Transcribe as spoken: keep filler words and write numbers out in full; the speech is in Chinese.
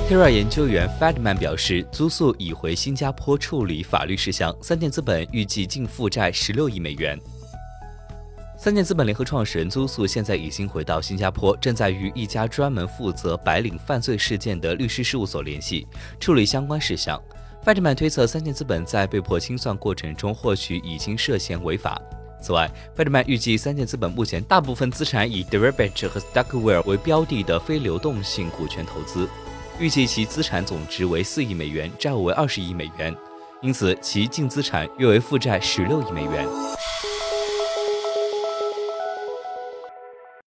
Terra 研究员 Fedman 表示，租宿已回新加坡处理法律事项，三箭资本预计净负债十六亿美元。三箭资本联合创始人租宿现在已经回到新加坡，正在与一家专门负责白领犯罪事件的律师事务所联系，处理相关事项。Fedman 推测，三箭资本在被迫清算过程中或许已经涉嫌违法。此外 ，Fedman 预计三箭资本目前大部分资产以 Deribit 和 Stockwell 为标的的非流动性股权投资，预计其资产总值为四亿美元，债务为二十亿美元，因此其净资产约为负债十六亿美元。